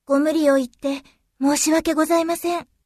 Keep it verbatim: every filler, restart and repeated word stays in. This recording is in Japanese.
ご無理を言って申し訳ございません。